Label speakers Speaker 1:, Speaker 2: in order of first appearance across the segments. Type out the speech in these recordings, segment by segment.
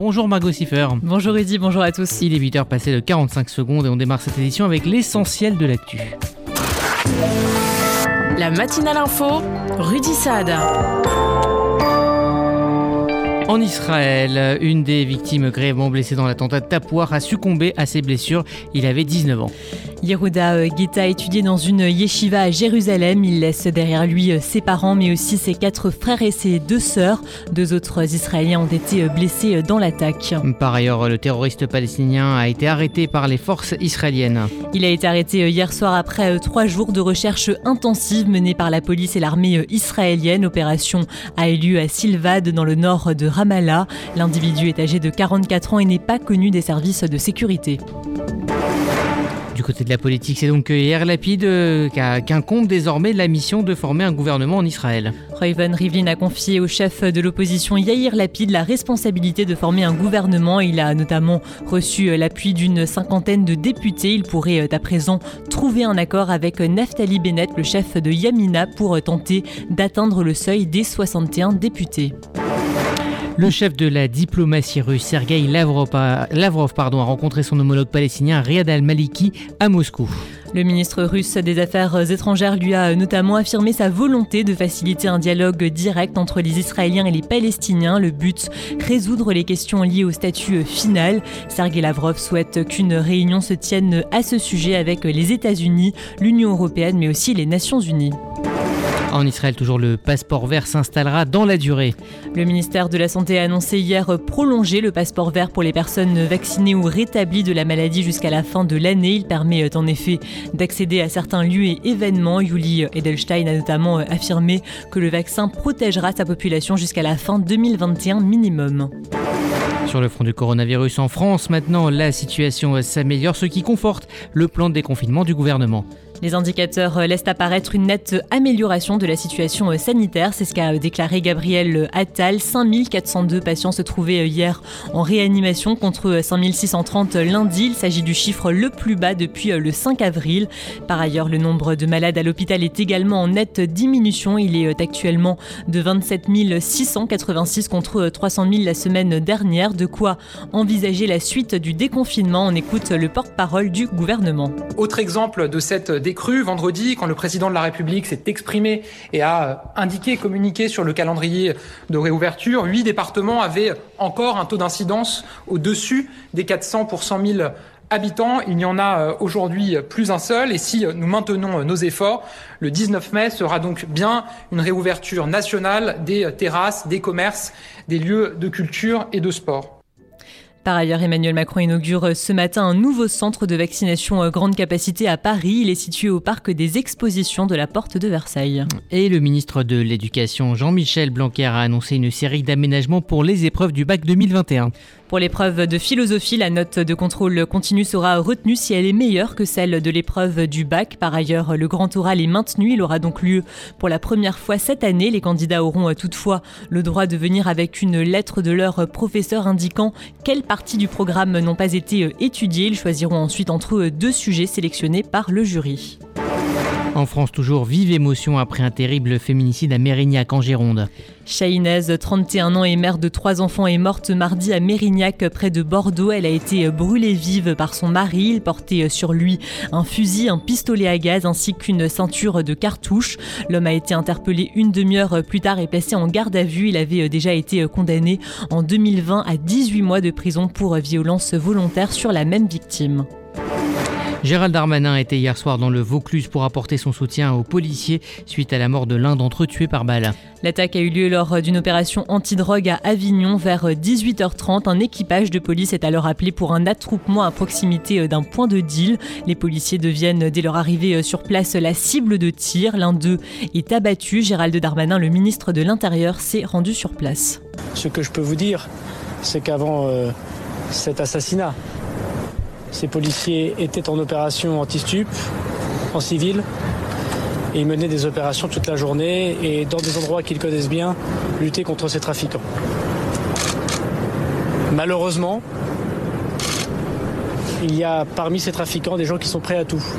Speaker 1: Bonjour Margot Siffer.
Speaker 2: Bonjour Rudy, bonjour à tous.
Speaker 1: Il est 8h passé de 45 secondes et on démarre cette édition avec l'essentiel de l'actu.
Speaker 3: La matinale info, Rudy Saad.
Speaker 1: En Israël, une des victimes grièvement blessées dans l'attentat de Tapouar a succombé à ses blessures. Il avait 19 ans.
Speaker 2: Yehuda Guetta étudiait dans une yeshiva à Jérusalem. Il laisse derrière lui ses parents, mais aussi ses 4 frères et ses 2 sœurs. 2 autres Israéliens ont été blessés dans l'attaque.
Speaker 1: Par ailleurs, le terroriste palestinien a été arrêté par les forces israéliennes.
Speaker 2: Il a été arrêté hier soir après 3 jours de recherche intensive menée par la police et l'armée israélienne. L'opération a eu lieu à Silvad, dans le nord de Ramallah. L'individu est âgé de 44 ans et n'est pas connu des services de sécurité.
Speaker 1: Du côté de la politique, c'est donc Yair Lapid qu'incombe désormais la mission de former un gouvernement en Israël.
Speaker 2: Reuven Rivlin a confié au chef de l'opposition Yair Lapid la responsabilité de former un gouvernement. Il a notamment reçu l'appui d'une 50aine de députés. Il pourrait à présent trouver un accord avec Naftali Bennett, le chef de Yamina, pour tenter d'atteindre le seuil des 61 députés.
Speaker 1: Le chef de la diplomatie russe, Sergueï Lavrov, a rencontré son homologue palestinien Riyad al-Maliki à Moscou.
Speaker 2: Le ministre russe des Affaires étrangères lui a notamment affirmé sa volonté de faciliter un dialogue direct entre les Israéliens et les Palestiniens. Le but, résoudre les questions liées au statut final. Sergueï Lavrov souhaite qu'une réunion se tienne à ce sujet avec les États-Unis, l'Union européenne, mais aussi les Nations unies.
Speaker 1: En Israël, toujours le passeport vert s'installera dans la durée.
Speaker 2: Le ministère de la Santé a annoncé hier prolonger le passeport vert pour les personnes vaccinées ou rétablies de la maladie jusqu'à la fin de l'année. Il permet en effet d'accéder à certains lieux et événements. Yuli Edelstein a notamment affirmé que le vaccin protégera sa population jusqu'à la fin 2021 minimum.
Speaker 1: Sur le front du coronavirus en France, maintenant, la situation s'améliore, ce qui conforte le plan de déconfinement du gouvernement.
Speaker 2: Les indicateurs laissent apparaître une nette amélioration de la situation sanitaire. C'est ce qu'a déclaré Gabriel Attal. 5402 patients se trouvaient hier en réanimation contre 5630 lundi. Il s'agit du chiffre le plus bas depuis le 5 avril. Par ailleurs, le nombre de malades à l'hôpital est également en nette diminution. Il est actuellement de 27 686 contre 300 000 la semaine dernière. De quoi envisager la suite du déconfinement. On écoute le porte-parole du gouvernement.
Speaker 4: Autre exemple de cette décrue, vendredi, quand le président de la République s'est exprimé et a communiqué sur le calendrier de réouverture, 8 départements avaient encore un taux d'incidence au-dessus des 400 pour 100 000 habitants. Il n'y en a aujourd'hui plus un seul. Et si nous maintenons nos efforts, le 19 mai sera donc bien une réouverture nationale des terrasses, des commerces, des lieux de culture et de sport.
Speaker 2: Par ailleurs, Emmanuel Macron inaugure ce matin un nouveau centre de vaccination grande capacité à Paris. Il est situé au parc des expositions de la Porte de Versailles.
Speaker 1: Et le ministre de l'Éducation, Jean-Michel Blanquer, a annoncé une série d'aménagements pour les épreuves du bac 2021.
Speaker 2: Pour l'épreuve de philosophie, la note de contrôle continu sera retenue si elle est meilleure que celle de l'épreuve du bac. Par ailleurs, le grand oral est maintenu. Il aura donc lieu pour la première fois cette année. Les candidats auront toutefois le droit de venir avec une lettre de leur professeur indiquant quelles parties du programme n'ont pas été étudiées. Ils choisiront ensuite entre eux 2 sujets sélectionnés par le jury.
Speaker 1: En France, toujours vive émotion après un terrible féminicide à Mérignac en Gironde.
Speaker 2: Shahinez, 31 ans et mère de 3 enfants, est morte mardi à Mérignac, près de Bordeaux. Elle a été brûlée vive par son mari. Il portait sur lui un fusil, un pistolet à gaz ainsi qu'une ceinture de cartouches. L'homme a été interpellé une demi-heure plus tard et placé en garde à vue. Il avait déjà été condamné en 2020 à 18 mois de prison pour violence volontaire sur la même victime.
Speaker 1: Gérald Darmanin était hier soir dans le Vaucluse pour apporter son soutien aux policiers suite à la mort de l'un d'entre eux tué par balle.
Speaker 2: L'attaque a eu lieu lors d'une opération antidrogue à Avignon vers 18h30. Un équipage de police est alors appelé pour un attroupement à proximité d'un point de deal. Les policiers deviennent dès leur arrivée sur place la cible de tir. L'un d'eux est abattu. Gérald Darmanin, le ministre de l'Intérieur, s'est rendu sur place.
Speaker 5: Ce que je peux vous dire, c'est qu'avant cet assassinat, ces policiers étaient en opération anti-stup, en civil, et ils menaient des opérations toute la journée et dans des endroits qu'ils connaissent bien, lutter contre ces trafiquants. Malheureusement, il y a parmi ces trafiquants des gens qui sont prêts à tout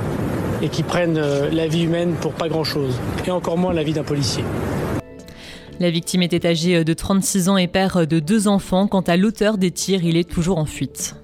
Speaker 5: et qui prennent la vie humaine pour pas grand-chose, et encore moins la vie d'un policier.
Speaker 2: La victime était âgée de 36 ans et père de 2 enfants. Quant à l'auteur des tirs, il est toujours en fuite.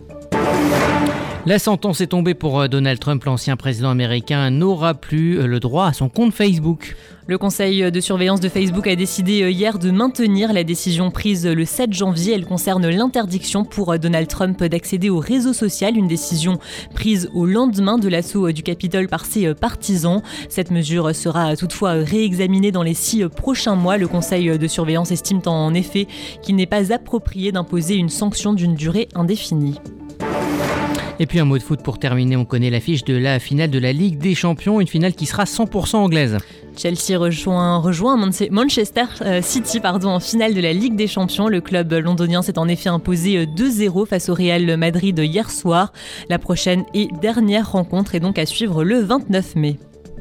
Speaker 1: La sentence est tombée pour Donald Trump. L'ancien président américain n'aura plus le droit à son compte Facebook.
Speaker 2: Le conseil de surveillance de Facebook a décidé hier de maintenir la décision prise le 7 janvier. Elle concerne l'interdiction pour Donald Trump d'accéder au réseau social, une décision prise au lendemain de l'assaut du Capitole par ses partisans. Cette mesure sera toutefois réexaminée dans les 6 prochains mois. Le conseil de surveillance estime en effet qu'il n'est pas approprié d'imposer une sanction d'une durée indéfinie.
Speaker 1: Et puis un mot de foot pour terminer, on connaît l'affiche de la finale de la Ligue des Champions, une finale qui sera 100% anglaise.
Speaker 2: Chelsea rejoint Manchester City en finale de la Ligue des Champions. Le club londonien s'est en effet imposé 2-0 face au Real Madrid hier soir. La prochaine et dernière rencontre est donc à suivre le 29 mai.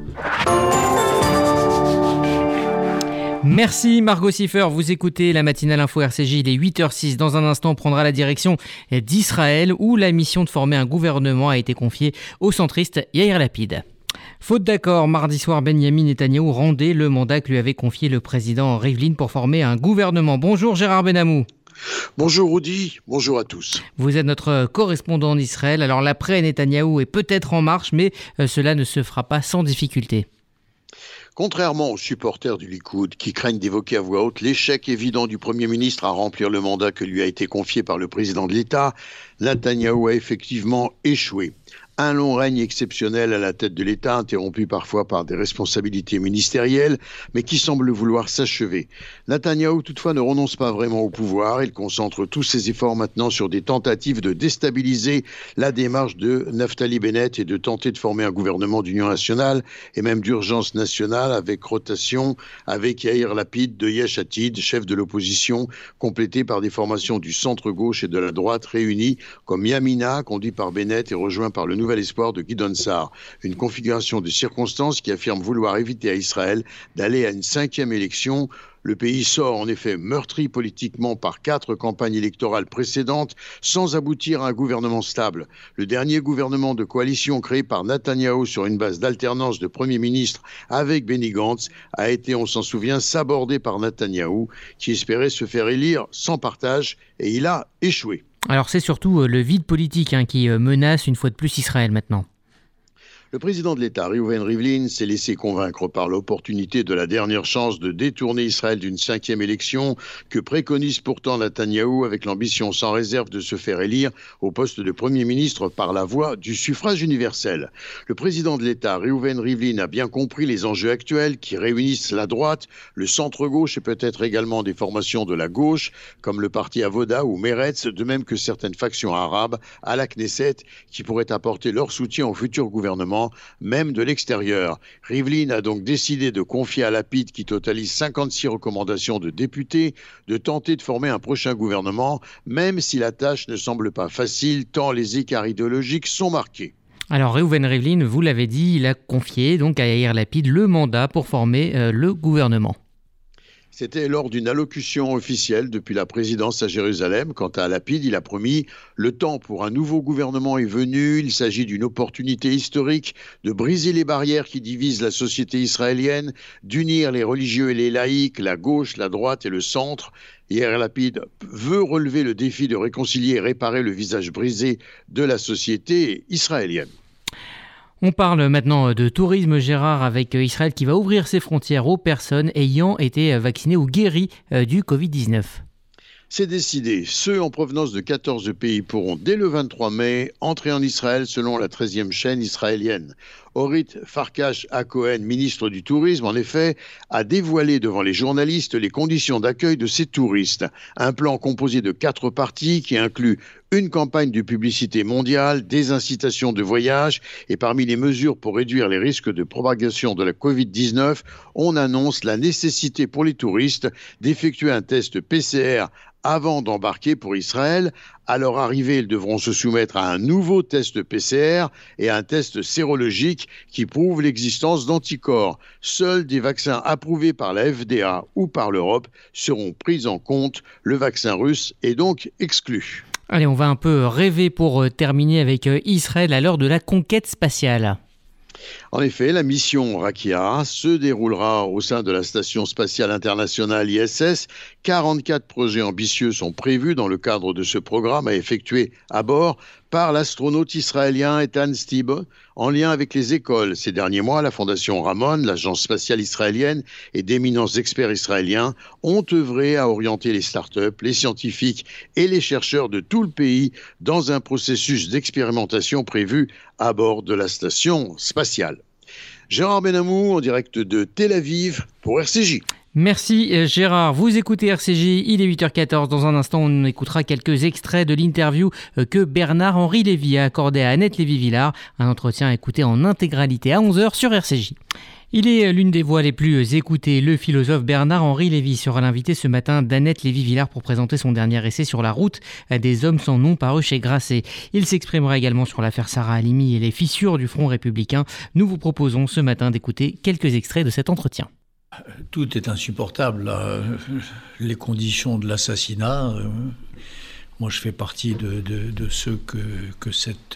Speaker 1: Merci Margot Siffer, vous écoutez la matinale info RCJ, il est 8h06. Dans un instant, on prendra la direction d'Israël où la mission de former un gouvernement a été confiée au centriste Yair Lapid. Faute d'accord, mardi soir, Benyamin Netanyahou rendait le mandat que lui avait confié le président Rivlin pour former un gouvernement. Bonjour Gérard Benamou.
Speaker 6: Bonjour Rudy, bonjour à tous.
Speaker 1: Vous êtes notre correspondant en Israël. Alors l'après Netanyahou est peut-être en marche, mais cela ne se fera pas sans difficulté.
Speaker 6: Contrairement aux supporters du Likoud qui craignent d'évoquer à voix haute l'échec évident du Premier ministre à remplir le mandat que lui a été confié par le président de l'État, Netanyahou a effectivement échoué. Un long règne exceptionnel à la tête de l'État, interrompu parfois par des responsabilités ministérielles, mais qui semble vouloir s'achever. Netanyahou, toutefois, ne renonce pas vraiment au pouvoir. Il concentre tous ses efforts maintenant sur des tentatives de déstabiliser la démarche de Naftali Bennett et de tenter de former un gouvernement d'union nationale et même d'urgence nationale avec rotation avec Yair Lapid de Yesh Atid, chef de l'opposition, complété par des formations du centre-gauche et de la droite réunies comme Yamina, conduit par Bennett et rejoint par le nouvel espoir de Gideon Sa'ar. Une configuration de circonstances qui affirme vouloir éviter à Israël d'aller à une 5e élection. Le pays sort en effet meurtri politiquement par 4 campagnes électorales précédentes sans aboutir à un gouvernement stable. Le dernier gouvernement de coalition créé par Netanyahou sur une base d'alternance de Premier ministre avec Benny Gantz a été, on s'en souvient, sabordé par Netanyahou qui espérait se faire élire sans partage et il a échoué.
Speaker 1: Alors c'est surtout le vide politique qui menace une fois de plus Israël maintenant.
Speaker 6: Le président de l'État, Reuven Rivlin, s'est laissé convaincre par l'opportunité de la dernière chance de détourner Israël d'une 5e élection que préconise pourtant Netanyahou avec l'ambition sans réserve de se faire élire au poste de Premier ministre par la voie du suffrage universel. Le président de l'État, Reuven Rivlin, a bien compris les enjeux actuels qui réunissent la droite, le centre-gauche et peut-être également des formations de la gauche, comme le parti Avoda ou Meretz, de même que certaines factions arabes à la Knesset qui pourraient apporter leur soutien au futur gouvernement, même de l'extérieur. Rivlin a donc décidé de confier à Lapid, qui totalise 56 recommandations de députés, de tenter de former un prochain gouvernement, même si la tâche ne semble pas facile, tant les écarts idéologiques sont marqués.
Speaker 1: Alors Reuven Rivlin, vous l'avez dit, il a confié donc à Yair Lapid le mandat pour former le gouvernement.
Speaker 6: C'était lors d'une allocution officielle depuis la présidence à Jérusalem. Quant à Lapid, il a promis « Le temps pour un nouveau gouvernement est venu. Il s'agit d'une opportunité historique de briser les barrières qui divisent la société israélienne, d'unir les religieux et les laïcs, la gauche, la droite et le centre. » Yair Lapid veut relever le défi de réconcilier et réparer le visage brisé de la société israélienne.
Speaker 1: On parle maintenant de tourisme, Gérard, avec Israël qui va ouvrir ses frontières aux personnes ayant été vaccinées ou guéries du Covid-19.
Speaker 6: C'est décidé. Ceux en provenance de 14 pays pourront, dès le 23 mai, entrer en Israël selon la 13e chaîne israélienne. Orit Farkash-Hacohen, ministre du Tourisme, en effet, a dévoilé devant les journalistes les conditions d'accueil de ces touristes. Un plan composé de 4 parties qui inclut une campagne de publicité mondiale, des incitations de voyage et parmi les mesures pour réduire les risques de propagation de la Covid-19, on annonce la nécessité pour les touristes d'effectuer un test PCR avant d'embarquer pour Israël. À leur arrivée, ils devront se soumettre à un nouveau test PCR et à un test sérologique qui prouve l'existence d'anticorps. Seuls des vaccins approuvés par la FDA ou par l'Europe seront pris en compte. Le vaccin russe est donc exclu.
Speaker 1: Allez, on va un peu rêver pour terminer avec Israël à l'heure de la conquête spatiale.
Speaker 6: En effet, la mission Rakia se déroulera au sein de la Station spatiale internationale ISS. 44 projets ambitieux sont prévus dans le cadre de ce programme à effectuer à bord par l'astronaute israélien Eitan Stibbe, en lien avec les écoles. Ces derniers mois, la Fondation Ramon, l'agence spatiale israélienne et d'éminents experts israéliens ont œuvré à orienter les startups, les scientifiques et les chercheurs de tout le pays dans un processus d'expérimentation prévu à bord de la station spatiale. Gérard Benamou en direct de Tel Aviv pour RCJ.
Speaker 1: Merci Gérard. Vous écoutez RCJ, il est 8h14. Dans un instant, on écoutera quelques extraits de l'interview que Bernard-Henri Lévy a accordé à Annette Lévy-Villard. Un entretien à écouter en intégralité à 11h sur RCJ. Il est l'une des voix les plus écoutées. Le philosophe Bernard-Henri Lévy sera l'invité ce matin d'Annette Lévy-Villard pour présenter son dernier essai sur la route des hommes sans nom paru chez Grasset. Il s'exprimera également sur l'affaire Sarah Halimi et les fissures du Front républicain. Nous vous proposons ce matin d'écouter quelques extraits de cet entretien.
Speaker 7: Tout est insupportable, là. Les conditions de l'assassinat. Moi, je fais partie de ceux que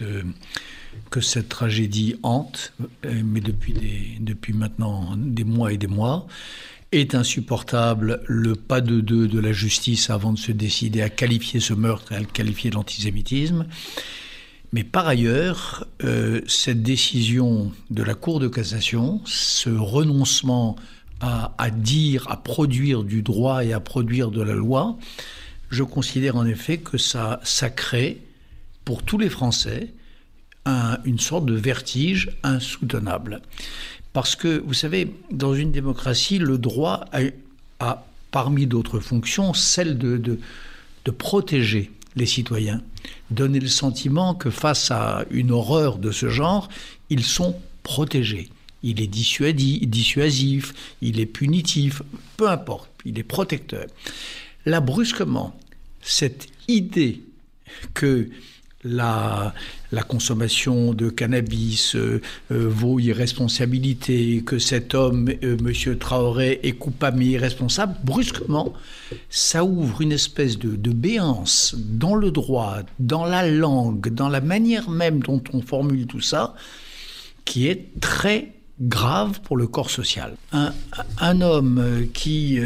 Speaker 7: cette tragédie hante, mais depuis maintenant des mois et des mois. Est insupportable le pas de deux de la justice avant de se décider à qualifier ce meurtre et à le qualifier d'antisémitisme. Mais par ailleurs, cette décision de la Cour de cassation, ce renoncement à dire, à produire du droit et à produire de la loi, je considère en effet que ça crée pour tous les Français une sorte de vertige insoutenable. Parce que, vous savez, dans une démocratie, le droit a parmi d'autres fonctions, celle de protéger les citoyens, donner le sentiment que face à une horreur de ce genre, ils sont protégés. Il est dissuasif, il est punitif, peu importe, il est protecteur. Là, brusquement, cette idée que la consommation de cannabis vaut irresponsabilité, que cet homme, M. Traoré, est coupable mais irresponsable, brusquement, ça ouvre une espèce de béance dans le droit, dans la langue, dans la manière même dont on formule tout ça, qui est très grave pour le corps social. Un homme qui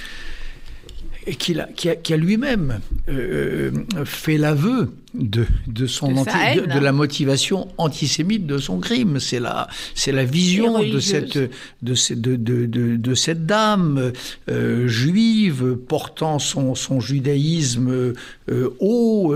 Speaker 7: a lui-même fait l'aveu de la motivation antisémite de son crime. C'est la vision de cette dame juive portant son judaïsme haut,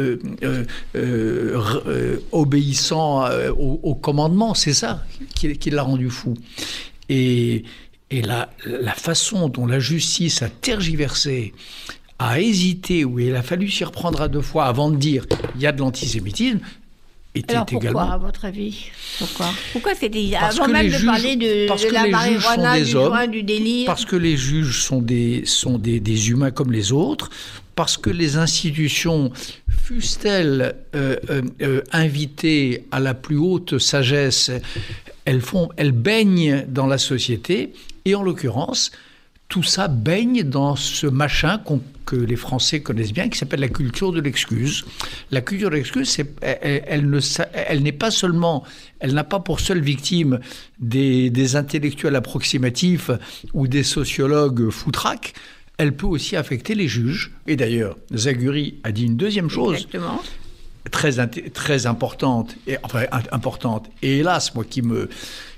Speaker 7: obéissant au commandement. C'est ça qui l'a rendu fou. Et la façon dont la justice a tergiversé, a hésité, où il a fallu s'y reprendre à deux fois avant de dire il y a de l'antisémitisme, était
Speaker 8: alors pourquoi,
Speaker 7: également...
Speaker 8: à votre avis? Pourquoi c'était...
Speaker 7: Parce
Speaker 8: avant
Speaker 7: que
Speaker 8: même
Speaker 7: les
Speaker 8: de
Speaker 7: juges,
Speaker 8: parler de la marijuana, du joint, du délire...
Speaker 7: Parce que les juges sont des humains comme les autres, parce que les institutions, fussent-elles invitées à la plus haute sagesse, elles baignent dans la société, et en l'occurrence, tout ça baigne dans ce machin que les Français connaissent bien, qui s'appelle la culture de l'excuse. La culture de l'excuse, elle n'est pas seulement, elle n'a pas pour seule victime des intellectuels approximatifs ou des sociologues foutraques, elle peut aussi affecter les juges. Et d'ailleurs, Zaguri a dit une deuxième chose. Exactement. Très importante, et hélas, moi, qui me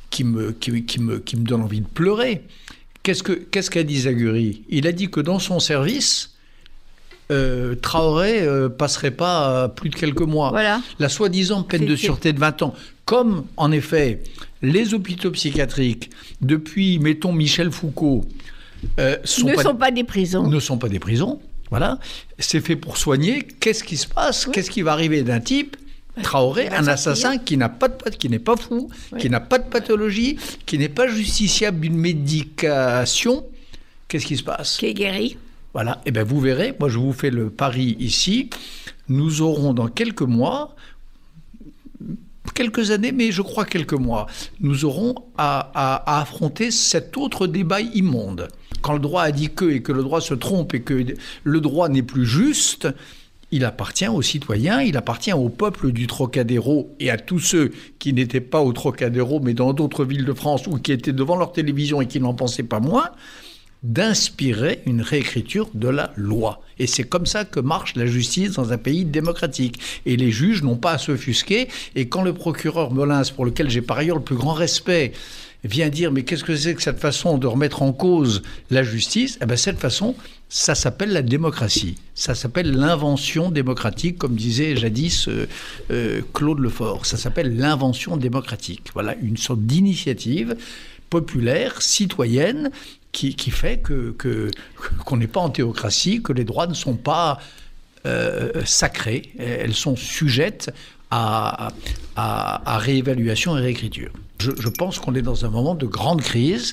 Speaker 7: donne envie de pleurer. Qu'est-ce qu'a dit Zaguri? Il a dit que dans son service, Traoré passerait pas plus de quelques mois. Voilà. La soi-disant peine de sûreté de 20 ans. Comme, en effet, les hôpitaux psychiatriques, depuis, mettons, Michel Foucault,
Speaker 8: ne sont pas des prisons.
Speaker 7: Voilà. C'est fait pour soigner. Qu'est-ce qui se passe? Oui. Qu'est-ce qui va arriver d'un type Traoré, un assassin qui n'est pas fou, oui, qui n'a pas de pathologie, qui n'est pas justiciable d'une médication. Qu'est-ce qui se passe?
Speaker 8: Qui est guéri.
Speaker 7: Voilà. Et bien, vous verrez, moi, je vous fais le pari ici. Nous aurons dans quelques mois, quelques années, mais je crois quelques mois, nous aurons à affronter cet autre débat immonde. Quand le droit a dit que, et que le droit se trompe, et que le droit n'est plus juste, il appartient aux citoyens, il appartient au peuple du Trocadéro et à tous ceux qui n'étaient pas au Trocadéro, mais dans d'autres villes de France ou qui étaient devant leur télévision et qui n'en pensaient pas moins, d'inspirer une réécriture de la loi. Et c'est comme ça que marche la justice dans un pays démocratique. Et les juges n'ont pas à s'offusquer. Et quand le procureur Molins, pour lequel j'ai par ailleurs le plus grand respect, vient dire « mais qu'est-ce que c'est que cette façon de remettre en cause la justice ?» cette façon, ça s'appelle la démocratie. Ça s'appelle l'invention démocratique, comme disait jadis Claude Lefort. Ça s'appelle l'invention démocratique. Voilà, une sorte d'initiative populaire, citoyenne, qui fait qu'on n'est pas en théocratie, que les droits ne sont pas sacrés. Elles sont sujettes à réévaluation et réécriture. Je pense qu'on est dans un moment de grande crise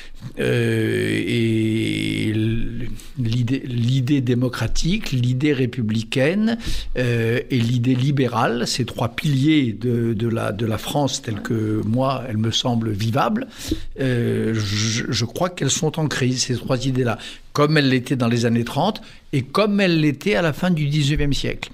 Speaker 7: et l'idée démocratique, l'idée républicaine et l'idée libérale, ces trois piliers de la France telle que moi, elle me semble vivable, je crois qu'elles sont en crise, ces trois idées-là, comme elles l'étaient dans les années 30 et comme elles l'étaient à la fin du XIXe siècle.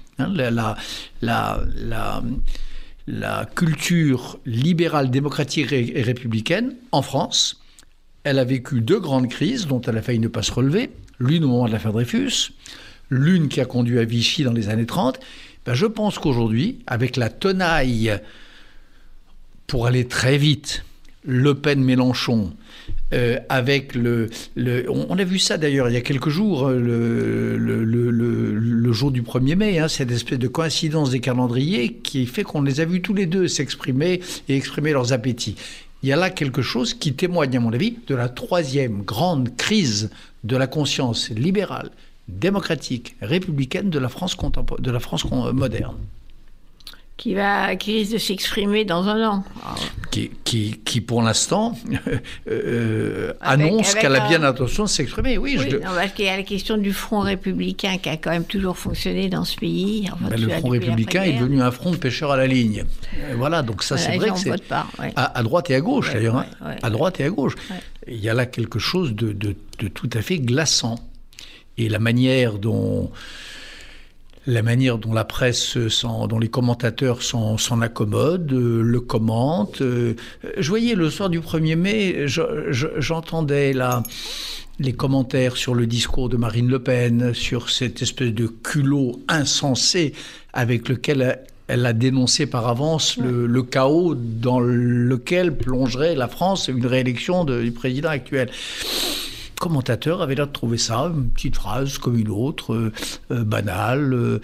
Speaker 7: La culture libérale, démocratique et républicaine en France, elle a vécu deux grandes crises dont elle a failli ne pas se relever. L'une au moment de l'affaire Dreyfus, l'une qui a conduit à Vichy dans les années 30. Je pense qu'aujourd'hui, avec la tenaille, pour aller très vite, Le Pen-Mélenchon, avec on a vu ça d'ailleurs il y a quelques jours, le jour du 1er mai, cette espèce de coïncidence des calendriers qui fait qu'on les a vus tous les deux s'exprimer et exprimer leurs appétits. Il y a là quelque chose qui témoigne, à mon avis, de la troisième grande crise de la conscience libérale, démocratique, républicaine de la France moderne.
Speaker 8: Qui risque de s'exprimer dans un an.
Speaker 7: Qui pour l'instant, annonce qu'elle a bien l'intention de s'exprimer.
Speaker 8: Parce qu'il y a la question du front républicain qui a quand même toujours fonctionné dans ce pays.
Speaker 7: Le front républicain est devenu un front de pêcheurs à la ligne. Voilà, donc ça c'est vrai que c'est à droite et à gauche d'ailleurs. À droite et à gauche. Ouais. Il y a là quelque chose de tout à fait glaçant. Et la manière dont la presse, dont les commentateurs s'en accommodent, le commentent. Je voyais le soir du 1er mai, j'entendais les commentaires sur le discours de Marine Le Pen, sur cette espèce de culot insensé avec lequel elle a dénoncé par avance le chaos dans lequel plongerait la France une réélection du président actuel. Commentateur avait l'air de trouver ça, une petite phrase comme une autre, banale,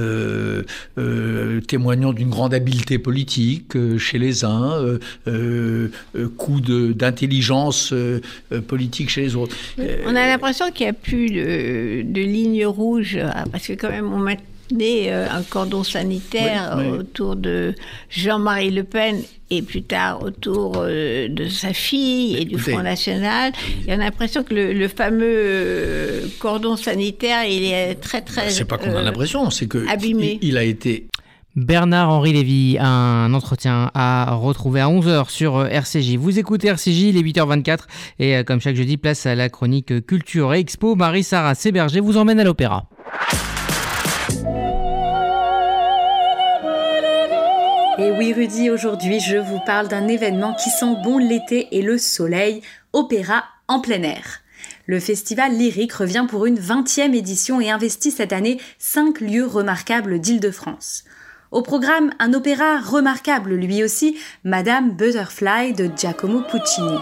Speaker 7: témoignant d'une grande habileté politique chez les uns, coup d'intelligence politique chez les autres.
Speaker 8: On a l'impression qu'il n'y a plus de ligne rouge, parce que quand même on maintenait un cordon sanitaire autour de Jean-Marie Le Pen et plus tard autour de sa fille et du Front National. Il y a l'impression que le fameux cordon sanitaire, il est très, très
Speaker 7: c'est pas qu'on a l'impression, c'est que
Speaker 8: abîmé.
Speaker 7: Il a été...
Speaker 1: Bernard-Henri Lévy, un entretien à retrouver à 11h sur RCJ. Vous écoutez RCJ, il est 8h24 et comme chaque jeudi, place à la chronique Culture et Expo. Marie-Sarah Séberger vous emmène à l'opéra.
Speaker 9: Et oui Rudy, aujourd'hui je vous parle d'un événement qui sent bon l'été et le soleil, opéra en plein air. Le festival lyrique revient pour une 20e édition et investit cette année 5 lieux remarquables d'Île-de-France. Au programme, un opéra remarquable lui aussi, Madame Butterfly de Giacomo Puccini.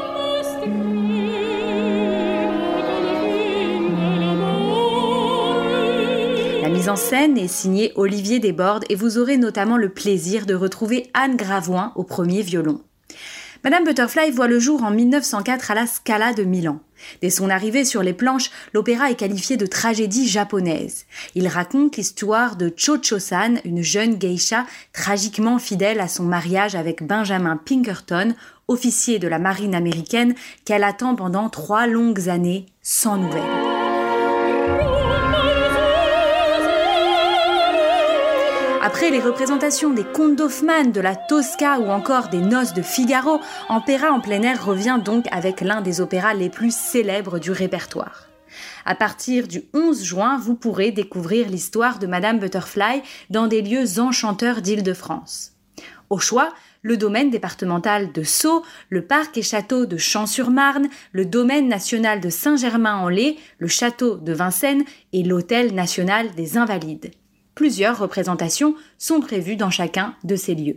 Speaker 9: La mise en scène est signée Olivier Desbordes et vous aurez notamment le plaisir de retrouver Anne Gravoin au premier violon. Madame Butterfly voit le jour en 1904 à la Scala de Milan. Dès son arrivée sur les planches, l'opéra est qualifié de tragédie japonaise. Il raconte l'histoire de Cho-Cho-san, une jeune geisha tragiquement fidèle à son mariage avec Benjamin Pinkerton, officier de la marine américaine, qu'elle attend pendant 3 longues années sans nouvelles. Après les représentations des contes d'Hoffmann, de la Tosca ou encore des Noces de Figaro, Opéra en plein air revient donc avec l'un des opéras les plus célèbres du répertoire. À partir du 11 juin, vous pourrez découvrir l'histoire de Madame Butterfly dans des lieux enchanteurs d'Île-de-France. Au choix, le domaine départemental de Sceaux, le parc et château de Champs-sur-Marne, le domaine national de Saint-Germain-en-Laye, le château de Vincennes et l'hôtel national des Invalides. Plusieurs représentations sont prévues dans chacun de ces lieux.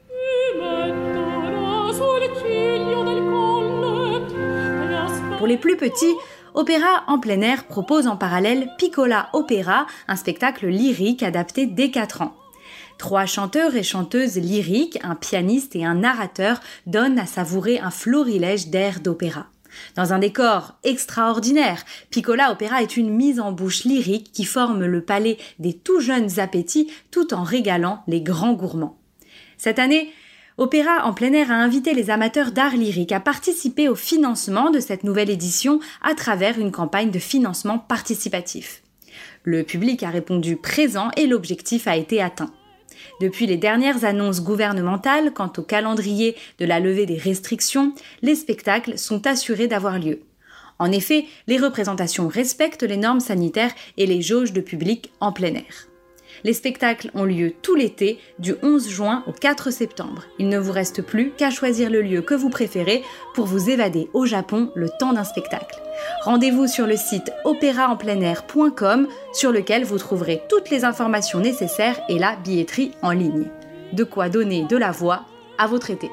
Speaker 9: Pour les plus petits, Opéra en plein air propose en parallèle Piccola Opera, un spectacle lyrique adapté dès 4 ans. 3 chanteurs et chanteuses lyriques, un pianiste et un narrateur donnent à savourer un florilège d'airs d'opéra. Dans un décor extraordinaire, Piccola Opera est une mise en bouche lyrique qui forme le palais des tout jeunes appétits tout en régalant les grands gourmands. Cette année, Opéra en plein air a invité les amateurs d'art lyrique à participer au financement de cette nouvelle édition à travers une campagne de financement participatif. Le public a répondu présent et l'objectif a été atteint. Depuis les dernières annonces gouvernementales quant au calendrier de la levée des restrictions, les spectacles sont assurés d'avoir lieu. En effet, les représentations respectent les normes sanitaires et les jauges de public en plein air. Les spectacles ont lieu tout l'été, du 11 juin au 4 septembre. Il ne vous reste plus qu'à choisir le lieu que vous préférez pour vous évader au Japon le temps d'un spectacle. Rendez-vous sur le site opéraenpleinair.com sur lequel vous trouverez toutes les informations nécessaires et la billetterie en ligne. De quoi donner de la voix à votre été.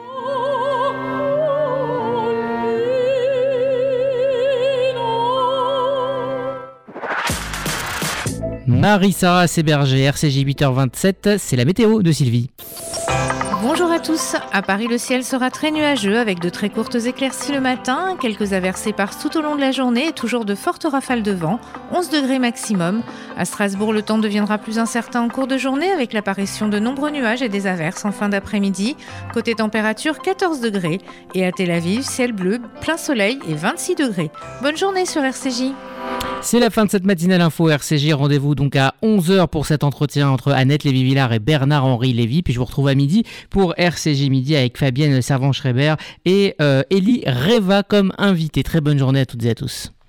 Speaker 1: Marie-Sarah Séberger, RCJ 8h27, c'est la météo de Sylvie.
Speaker 10: Bonjour à tous. À Paris, le ciel sera très nuageux avec de très courtes éclaircies le matin. Quelques averses éparses tout au long de la journée et toujours de fortes rafales de vent. 11 degrés maximum. À Strasbourg, le temps deviendra plus incertain en cours de journée avec l'apparition de nombreux nuages et des averses en fin d'après-midi. Côté température, 14 degrés. Et à Tel Aviv, ciel bleu, plein soleil et 26 degrés. Bonne journée sur RCJ.
Speaker 1: C'est la fin de cette matinale info RCJ. Rendez-vous donc à 11h pour cet entretien entre Annette Lévy-Villard et Bernard-Henri Lévy. Puis je vous retrouve à midi pour RCJ Midi avec Fabienne Servan-Schreiber et Elie Reva comme invité. Très bonne journée à toutes et à tous.